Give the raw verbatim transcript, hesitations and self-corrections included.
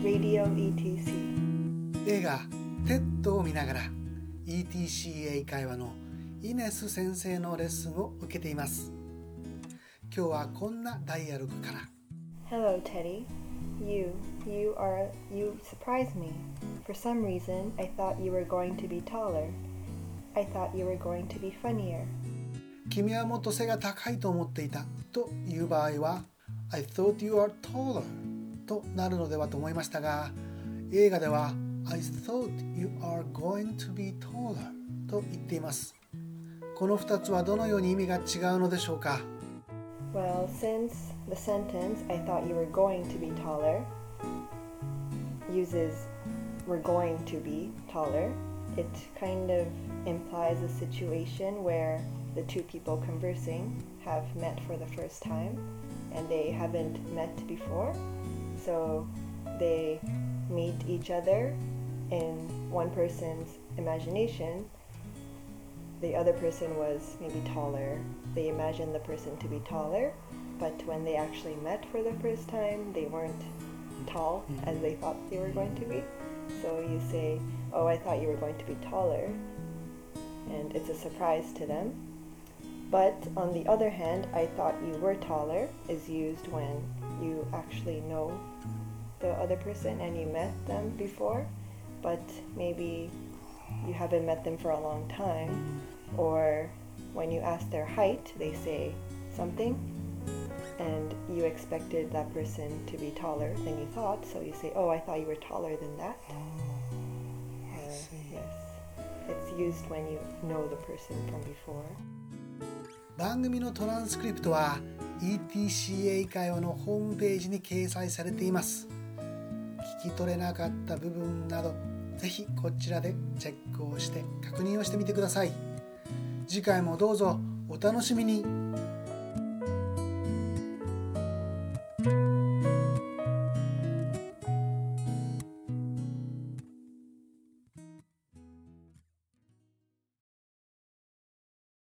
Radio イーティーシー映画テッドを見ながら イーティーシー 英会話のイネス先生のレッスンを受けています。今日はこんなダイアログから。 Hello, Teddy. You, you are, you surprised me. For some reason, I thought you were going to be taller. I thought you were going to be funnier. 君はもっと背が高いと思っていたという場合は I thought you are taller となるのではと思いましたが、映画では I thought you are going to be taller と言っています。このふたつはどのように意味が違うのでしょうか。 Well, since the sentence I thought you were going to be taller uses we're going to be taller, it kind of implies a situation where the two people conversing have met for the first time and they haven't met before, so they meet each other in one person's imagination. The other person was maybe taller. They imagined the person to be taller, but when they actually met for the first time, they weren't tall as they thought they were going to be. So you say, oh, I thought you were going to be taller, and it's a surprise to them. But on the other hand, I thought you were taller is used when you actually know the other person and you met them before, but maybe you haven't met them for a long time, or when you ask their height, they say something and you expected that person to be taller than you thought, so you say, oh, I thought you were taller than that. Oh, I see. Uh, yes, it's used when you know the person from before. 番組のトランスクリプトは イーティーシー 英会話のホームページに掲載されています。聞き取れなかった部分など、ぜひこちらでチェックをして確認をしてみてください。次回もどうぞお楽しみに。